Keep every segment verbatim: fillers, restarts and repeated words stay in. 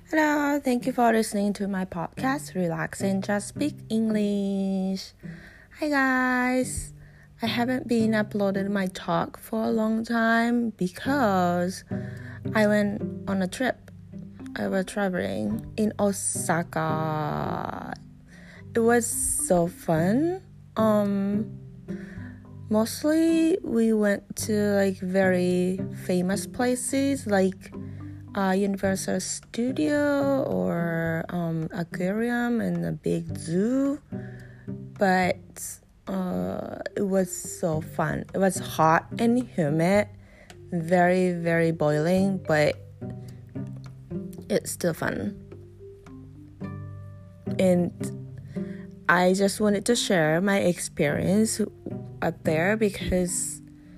Hello, thank you for listening to my podcast, Relax and Just Speak English. Hi guys, I haven't been uploading my talk for a long time because I went on a trip. I was traveling in Osaka. It was so fun. Um, mostly we went to like very famous places like Uh, Universal Studio or um, aquarium and a big zoo, but uh, it was so fun. It was hot and humid, very very boiling, but it's still fun. And I just wanted to share my experience up there because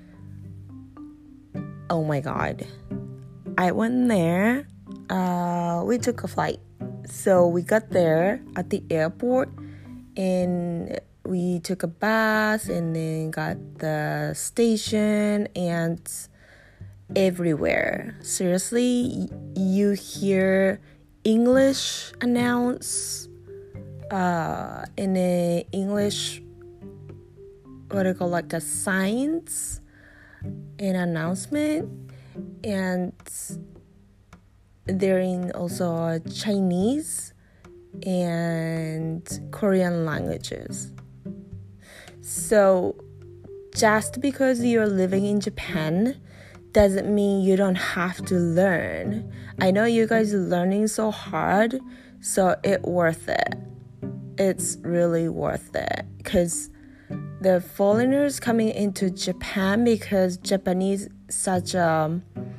oh my god, I went there, uh, we took a flight. So we got there at the airport and we took a bus and then got the station and everywhere. Seriously, you hear English announce, uh, in a English, what do you call like the signs, an announcement. And they're in also Chinese and Korean languages. So just because you're living in Japan doesn't mean you don't have to learn. I know you guys are learning so hard, so it's worth it. It's really worth it because the foreigners coming into Japan, because Japanese such a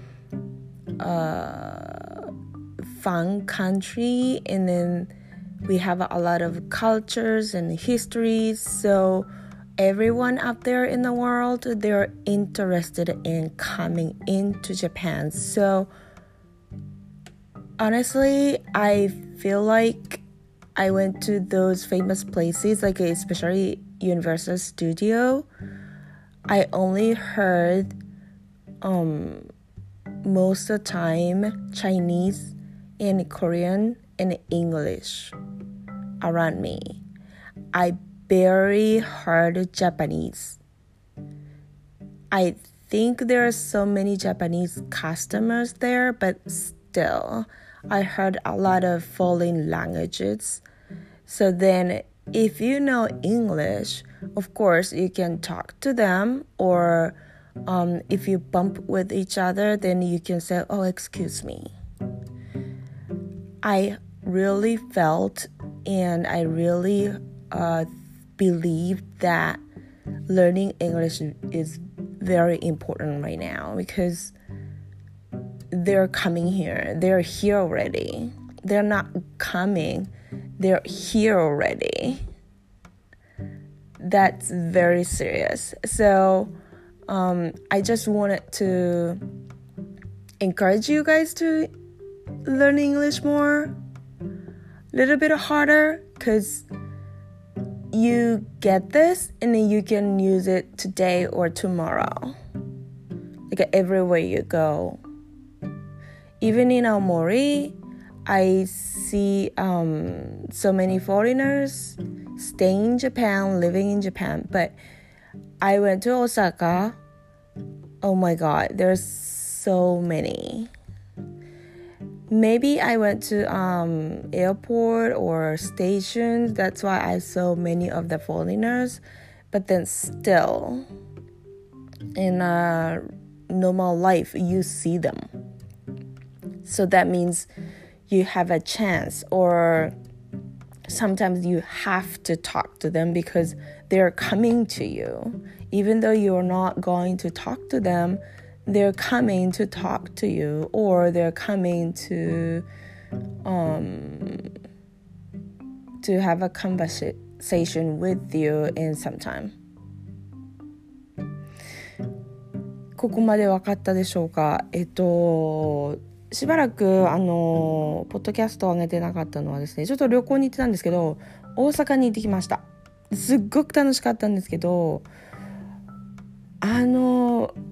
uh, fun country, and then we have a lot of cultures and histories, so everyone out there in the world, they're interested in coming into Japan. So honestly, I feel like I went to those famous places, like especially Universal Studio. I only heard um, most of the time Chinese and Korean and English around me. I barely heard Japanese. I think there are so many Japanese customers there, but still, I heard a lot of foreign languages. So then, if you know English, of course, you can talk to them, or um, if you bump with each other, then you can say, oh, excuse me. I really felt and I really uh, believe that learning English is very important right now because they're coming here. They're here already. They're not coming. They're here already. That's very serious. So um, I just wanted to encourage you guys to learn English more, a little bit harder, because you get this and then you can use it today or tomorrow, like everywhere you go. Even in Aomori, I see um, so many foreigners staying in Japan, living in Japan. But I went to Osaka. Oh my God, there's so many. Maybe I went to um, airport or stations. That's why I saw many of the foreigners. But then still, in a normal life, you see them. So that means you have a chance, or sometimes you have to talk to them because they're coming to you. Even though you're not going to talk to them, they're coming to talk to you, or they're coming to um, to have a conversation with you in some time. ここまで分かったでしょうか？えっとしばらくあのポッドキャストを上げてなかったのはですね、ちょっと旅行に行ってたんですけど、大阪に行ってきました。すっごく楽しかったんですけど、あの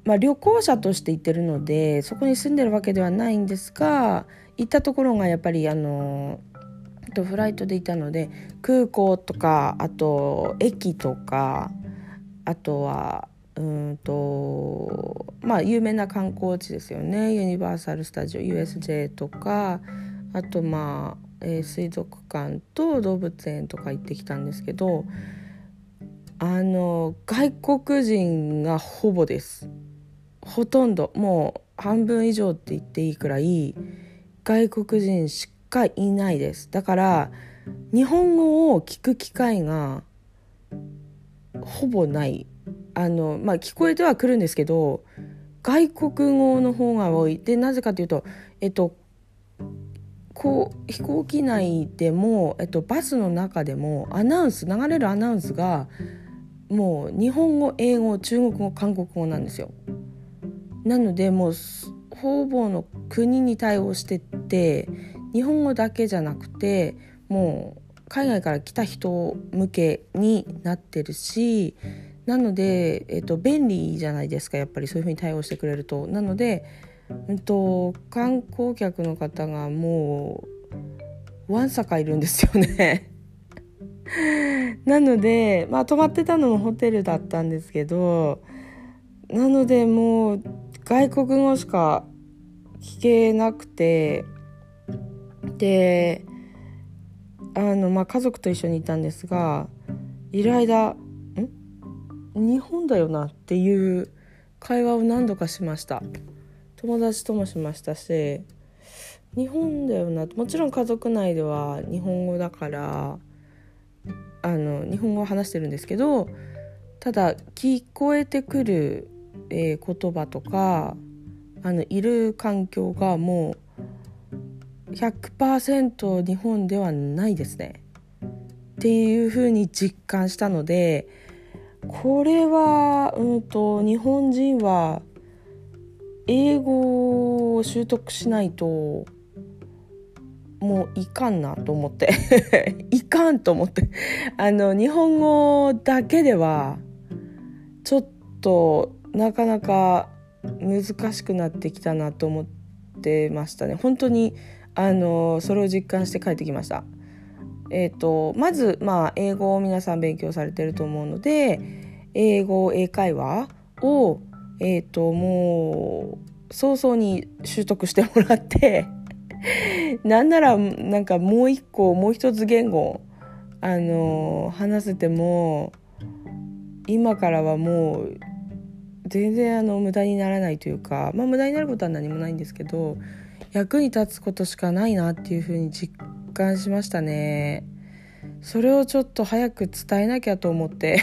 まあ、旅行者として行ってるのでそこに住んでるわけではないんですが、行ったところがやっぱりあのとフライトでいたので、空港とかあと駅とか、あとはうんとまあ有名な観光地ですよね。ユニバーサルスタジオ ユーエスジェー とか、あとまあ、えー、水族館と動物園とか行ってきたんですけど、あの外国人がほぼです。ほとんどもう半分以上って言っていいくらい外国人しかいないです。だから日本語を聞く機会がほぼない。あの、まあ、聞こえてはくるんですけど外国語の方が多い。でなぜかというと、えっと、こう飛行機内でも、えっと、バスの中でもアナウンス流れるアナウンスがもう日本語、英語、中国語、韓国語なんですよ。なのでもうほぼの国に対応してって日本語だけじゃなくてもう海外から来た人向けになってるし、なので、えっと、便利じゃないですか、やっぱりそういう風に対応してくれると。なので、うんと、観光客の方がもうわんさかいるんですよねなので、まあ、泊まってたのもホテルだったんですけど、なのでもう外国語しか聞けなくて、であの、まあ、家族と一緒にいたんですが、いる間ん日本だよなっていう会話を何度かしました。友達ともしましたし、日本だよな、もちろん家族内では日本語だからあの日本語を話してるんですけど、ただ聞こえてくる、えー、言葉とかあのいる環境がもう ひゃくパーセント 日本ではないですねっていう風に実感したので、これは、うんと、日本人は英語を習得しないともういかんなと思っていかんと思ってあの日本語だけではちょっとなかなか難しくなってきたなと思ってましたね。本当にあのそれを実感して帰ってきました。えーと、まず、まあ、英語を皆さん勉強されてると思うので、英語英会話を、えーと、もう早々に習得してもらってなんならなんかもう一個もう一つ言語あの話せても今からはもう全然あの無駄にならないというか、まあ無駄になることは何もないんですけど役に立つことしかないなっていうふうに実感しましたね。それをちょっと早く伝えなきゃと思って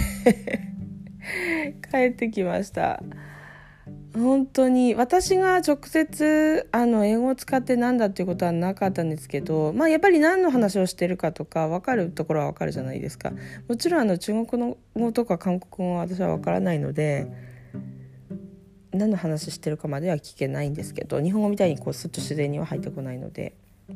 帰ってきました。本当に私が直接あの英語を使ってなんだっていうことはなかったんですけど、まあ、やっぱり何の話をしてるかとか分かるところは分かるじゃないですか。もちろんあの中国の語とか韓国語は私は分からないので何の話してるかまでは聞けないんですけど、日本語みたいにこうスッと自然には入ってこないので、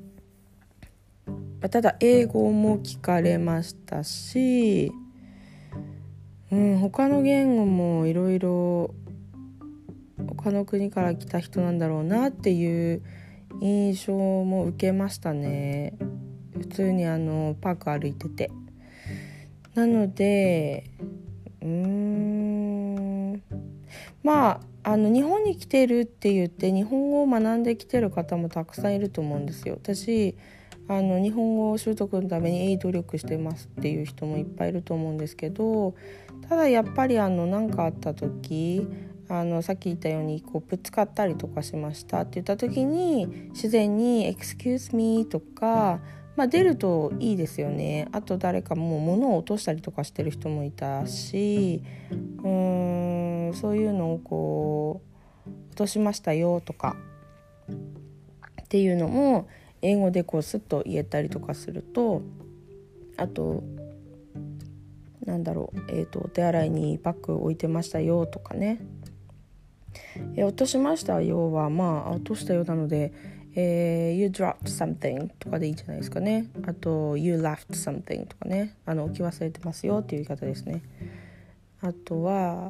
ただ英語も聞かれましたし、うん、他の言語もいろいろ他の国から来た人なんだろうなっていう印象も受けましたね。普通にあのパーク歩いてて、なのでうーんまああの日本に来てるって言って日本語を学んできてる方もたくさんいると思うんですよ。私あの日本語習得のために努力してますっていう人もいっぱいいると思うんですけど、ただやっぱりあの何かあった時あのさっき言ったようにこうぶつかったりとかしましたって言った時に自然に excuse me とか、まあ、出るといいですよね。あと誰かもう物を落としたりとかしてる人もいたし、うーんそういうのをこう落としましたよとかっていうのも英語でこうスッと言えたりとかすると、あとなんだろう、えーと、お手洗いにバッグ置いてましたよとかね、え落としましたよはまあ落としたようなので、えー、You dropped something とかでいいんじゃないですかね。あと You left something とかね、あの置き忘れてますよっていう言い方ですね。あとは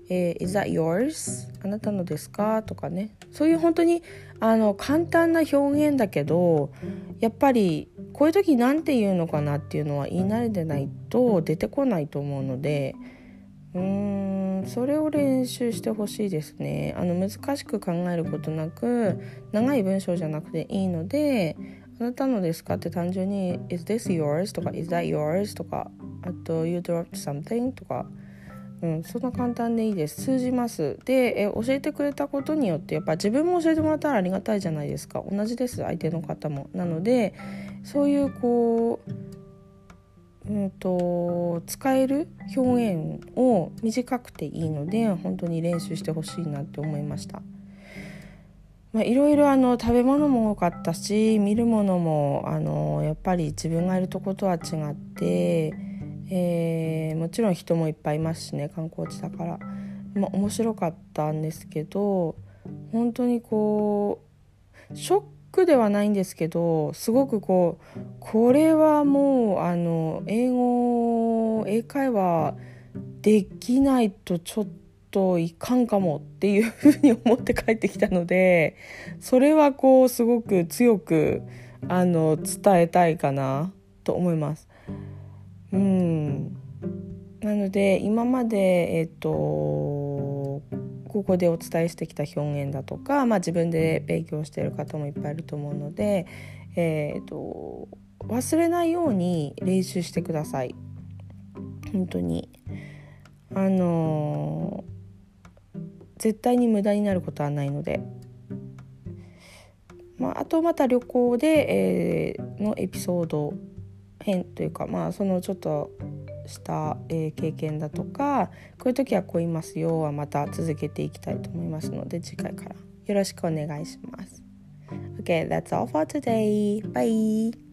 えー、Is that yours? あなたのですかとかね、そういう本当にあの簡単な表現だけど、やっぱりこういう時なんて言うのかなっていうのは言い慣れてないと出てこないと思うので、うーんそれを練習してほしいですね。あの難しく考えることなく、長い文章じゃなくていいので、あなたのですかって単純に Is this yours? とか Is that yours? とか、あと You dropped something? とか、うん、そんな簡単でいいです。通じます。でえ教えてくれたことによってやっぱ自分も教えてもらったらありがたいじゃないですか。同じです、相手の方も。なのでそういうこう、うん、と使える表現を短くていいので本当に練習してほしいなって思いました。まあ、いろいろあの食べ物も多かったし、見るものもあのやっぱり自分がいるとことは違って、えー、もちろん人もいっぱいいますしね、観光地だから、まあ、面白かったんですけど、本当にこうショックではないんですけど、すごくこうこれはもうあの英語英会話できないとちょっといかんかもっていうふうに思って帰ってきたので、それはこうすごく強くあの伝えたいかなと思います。うん、なので今までえっとここでお伝えしてきた表現だとか、まあ、自分で勉強している方もいっぱいいると思うので、えっと忘れないように練習してください。本当にあの絶対に無駄になることはないので、まあ、あとまた旅行で、えー、のエピソード編というか、まあ、そのちょっとした、えー、経験だとか、こういう時はこう言いますよはまた続けていきたいと思いますので、次回からよろしくお願いします。 OK, that's all for today. Bye.